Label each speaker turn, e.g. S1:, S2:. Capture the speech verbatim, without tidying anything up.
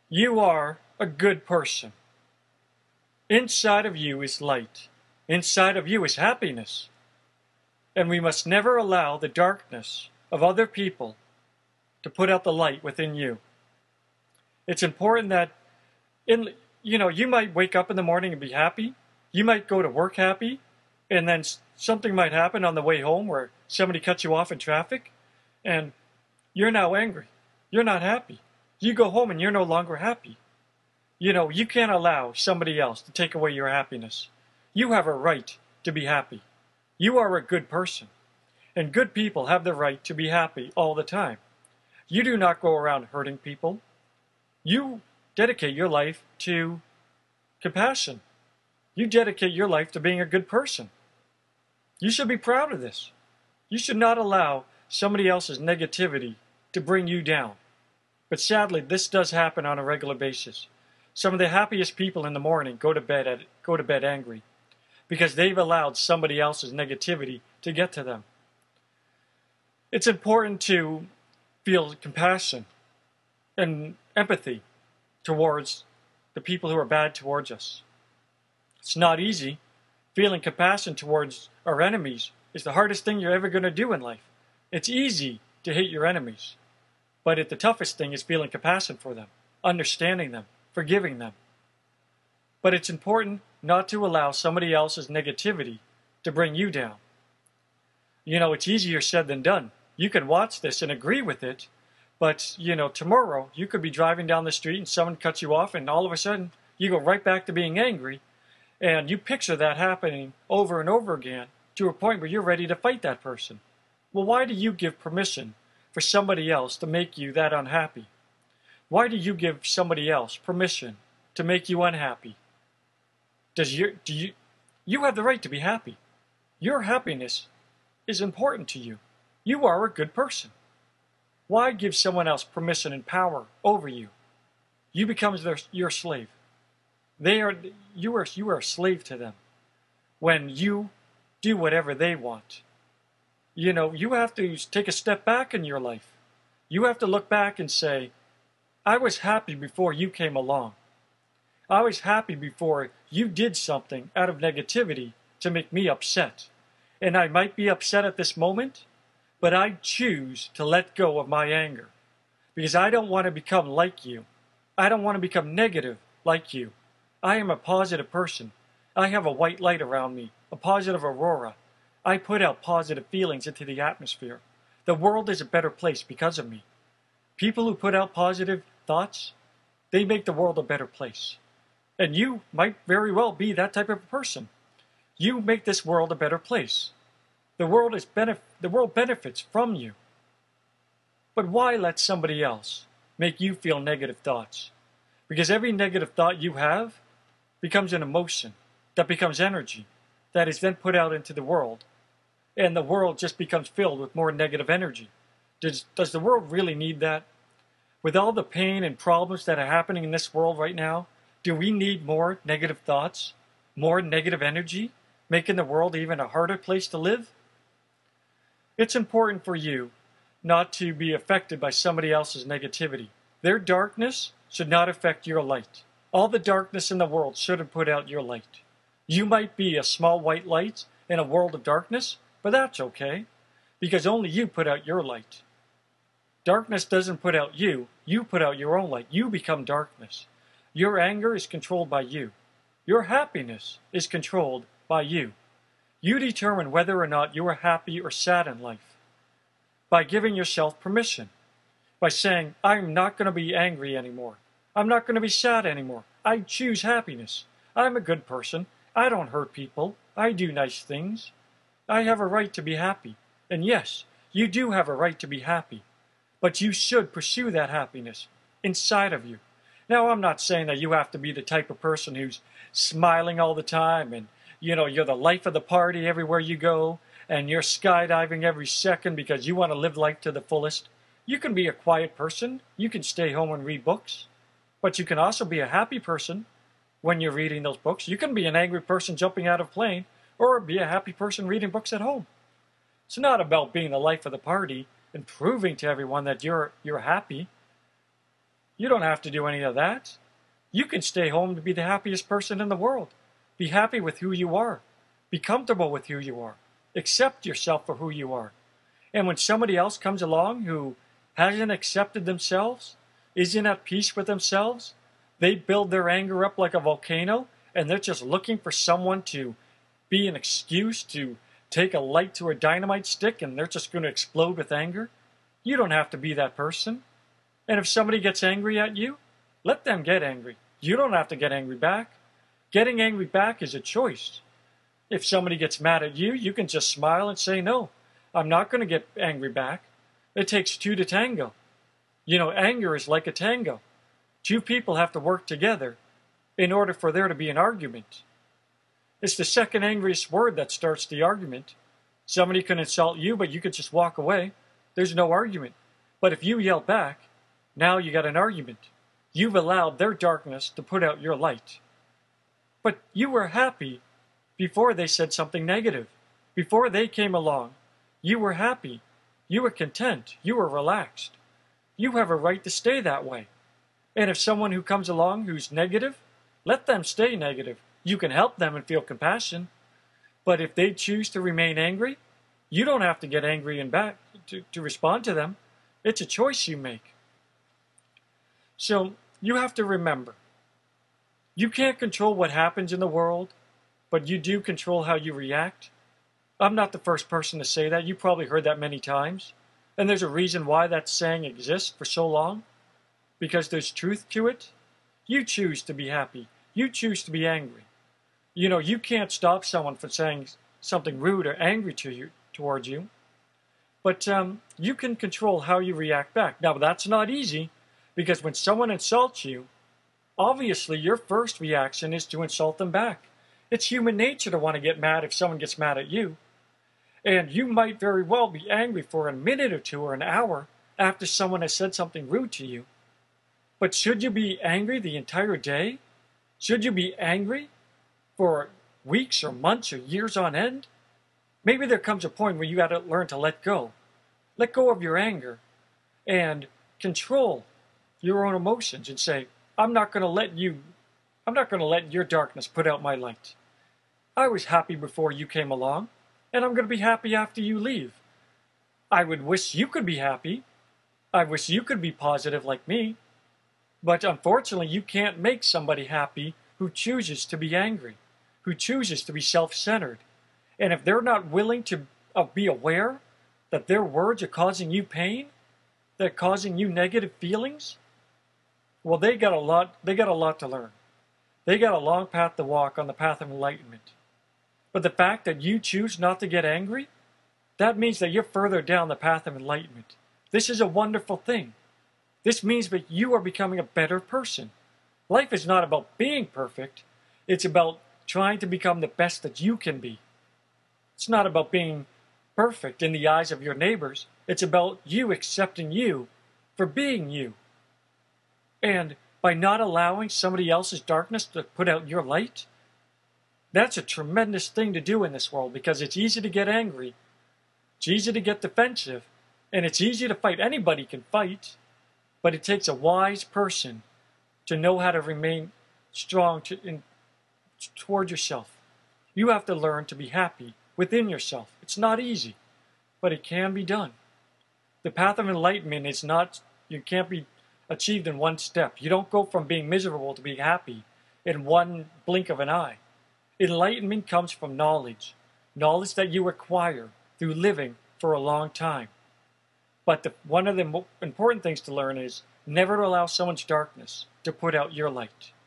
S1: You are a good person. Inside of you is light. Inside of you is happiness. And we must never allow the darkness of other people to put out the light within you. It's important that in you know, you might wake up in the morning and be happy. You might go to work happy, and then something might happen on the way home where somebody cuts you off in traffic, and you're now angry. You're not happy. You go home and you're no longer happy. You know, you can't allow somebody else to take away your happiness. You have a right to be happy. You are a good person. And good people have the right to be happy all the time. You do not go around hurting people. You dedicate your life to compassion. You dedicate your life to being a good person. You should be proud of this. You should not allow somebody else's negativity to bring you down. But sadly, this does happen on a regular basis. Some of the happiest people in the morning go to bed at, go to bed angry because they've allowed somebody else's negativity to get to them. It's important to feel compassion and empathy towards the people who are bad towards us. It's not easy. Feeling compassion towards our enemies is the hardest thing you're ever going to do in life. It's easy to hate your enemies, but it, the toughest thing is feeling compassion for them, understanding them, forgiving them. But it's important not to allow somebody else's negativity to bring you down. You know, it's easier said than done. You can watch this and agree with it, but, you know, tomorrow you could be driving down the street and someone cuts you off and all of a sudden you go right back to being angry, and you picture that happening over and over again to a point where you're ready to fight that person. Well, why do you give permission for somebody else to make you that unhappy? Why do you give somebody else permission to make you unhappy? Does your, do you, you have the right to be happy. Your happiness is important to you. You are a good person. Why give someone else permission and power over you? You become their, your slave. They are, you are, you are a slave to them when you do whatever they want. You know, you have to take a step back in your life. You have to look back and say, I was happy before you came along. I was happy before you did something out of negativity to make me upset. And I might be upset at this moment, but I choose to let go of my anger because I don't want to become like you. I don't want to become negative like you. I am a positive person. I have a white light around me, a positive aurora. I put out positive feelings into the atmosphere. The world is a better place because of me. People who put out positive thoughts, they make the world a better place. And you might very well be that type of person. You make this world a better place. The world is benef- the world benefits from you. But why let somebody else make you feel negative thoughts? Because every negative thought you have becomes an emotion that becomes energy that is then put out into the world. And the world just becomes filled with more negative energy. Does, does the world really need that? With all the pain and problems that are happening in this world right now, do we need more negative thoughts? More negative energy? Making the world even a harder place to live? It's important for you not to be affected by somebody else's negativity. Their darkness should not affect your light. All the darkness in the world shouldn't put out your light. You might be a small white light in a world of darkness, but that's okay, because only you put out your light. Darkness doesn't put out you, you put out your own light. You become darkness. Your anger is controlled by you. Your happiness is controlled by you. You determine whether or not you are happy or sad in life by giving yourself permission, by saying, I'm not going to be angry anymore. I'm not going to be sad anymore. I choose happiness. I'm a good person. I don't hurt people. I do nice things. I have a right to be happy. And yes, you do have a right to be happy. But you should pursue that happiness inside of you. Now, I'm not saying that you have to be the type of person who's smiling all the time and, you know, you're the life of the party everywhere you go and you're skydiving every second because you want to live life to the fullest. You can be a quiet person. You can stay home and read books. But you can also be a happy person when you're reading those books. You can be an angry person jumping out of a plane or be a happy person reading books at home. It's not about being the life of the party and proving to everyone that you're you're happy. You don't have to do any of that. You can stay home to be the happiest person in the world. Be happy with who you are. Be comfortable with who you are. Accept yourself for who you are. And when somebody else comes along who hasn't accepted themselves, isn't at peace with themselves, they build their anger up like a volcano, and they're just looking for someone to be an excuse to take a light to a dynamite stick, and they're just going to explode with anger. You don't have to be that person. And if somebody gets angry at you, let them get angry. You don't have to get angry back. Getting angry back is a choice. If somebody gets mad at you, you can just smile and say, no, I'm not going to get angry back. It takes two to tango. You know, anger is like a tango. Two people have to work together in order for there to be an argument. It's the second angriest word that starts the argument. Somebody can insult you, but you could just walk away. There's no argument. But if you yell back, now you got an argument. You've allowed their darkness to put out your light. But you were happy before they said something negative. Before they came along, you were happy. You were content. You were relaxed. You have a right to stay that way. And if someone who comes along who's negative, let them stay negative. You can help them and feel compassion. But if they choose to remain angry, you don't have to get angry and back to, to respond to them. It's a choice you make. So you have to remember, you can't control what happens in the world, but you do control how you react. I'm not the first person to say that. You probably heard that many times. And there's a reason why that saying exists for so long. Because there's truth to it. You choose to be happy. You choose to be angry. You know, you can't stop someone from saying something rude or angry to you, towards you. But um, you can control how you react back. Now, that's not easy, because when someone insults you, obviously your first reaction is to insult them back. It's human nature to want to get mad if someone gets mad at you. And you might very well be angry for a minute or two or an hour after someone has said something rude to you. But should you be angry the entire day? Should you be angry for weeks or months or years on end? Maybe there comes a point where you got to learn to let go. Let go of your anger and control your own emotions and say, I'm not going to let you, I'm not going to let your darkness put out my light. I was happy before you came along, and I'm going to be happy after you leave. I would wish you could be happy. I wish you could be positive like me. But unfortunately, you can't make somebody happy who chooses to be angry, who chooses to be self-centered. And if they're not willing to uh, be aware that their words are causing you pain, they're causing you negative feelings, well, they got a lot, they got a lot to learn. They got a long path to walk on the path of enlightenment. But the fact that you choose not to get angry, that means that you're further down the path of enlightenment. This is a wonderful thing. This means that you are becoming a better person. Life is not about being perfect. It's about trying to become the best that you can be. It's not about being perfect in the eyes of your neighbors. It's about you accepting you for being you. And by not allowing somebody else's darkness to put out your light, that's a tremendous thing to do in this world, because it's easy to get angry. It's easy to get defensive. And it's easy to fight. Anybody can fight. But it takes a wise person to know how to remain strong to, in, toward yourself. You have to learn to be happy within yourself. It's not easy, but it can be done. The path of enlightenment is not, you can't be achieved in one step. You don't go from being miserable to being happy in one blink of an eye. Enlightenment comes from knowledge, knowledge that you acquire through living for a long time. But the, one of the important things to learn is never to allow someone's darkness to put out your light.